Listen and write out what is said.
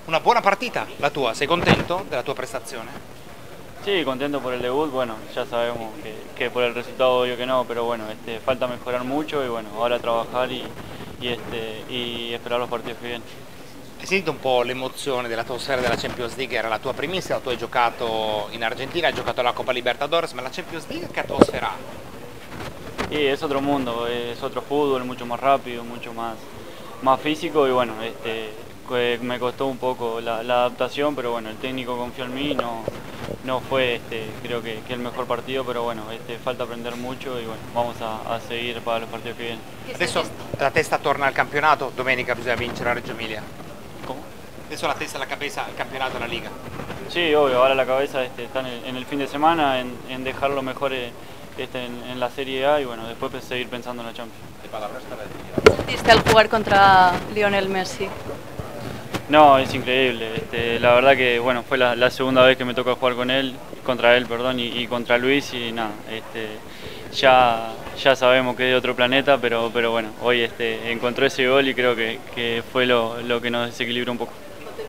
Una buona partita la tua, sei contento della tua prestazione? Sí, contento por el debut, bueno, ya sabemos que por el resultado obvio que no, pero bueno, falta mejorar mucho y bueno, ahora trabajar y esperar los partidos que vienen. Hai sentito un po' l'emozione dell'atmosfera della Champions League? Era la tua primissima, tu hai giocato in Argentina, hai giocato la Coppa Libertadores, ma la Champions League che atmosfera ha? Y es otro mundo, es otro fútbol, mucho más rápido, más físico y bueno, me costó un poco la adaptación, pero bueno, el técnico confió en mí, no fue creo que el mejor partido, pero bueno, falta aprender mucho y bueno, vamos a seguir para los partidos que vienen. Adesso la testa torna al campionato, domenica bisogna vincere a Reggio Emilia. ¿Cómo? Adesso la testa alla cabeza al campionato, la Liga. Sí, obvio, ahora la cabeza está en el fin de semana, en dejar lo mejor en la Serie A y bueno, después seguir pensando en la Champions. ¿Sentiste al jugar contra Lionel Messi? No, es increíble. La verdad que bueno, fue la segunda vez que me toca jugar contra él, perdón, y contra Luis y nada, ya sabemos que es de otro planeta, pero bueno, hoy encontró ese gol y creo que fue lo que nos desequilibró un poco.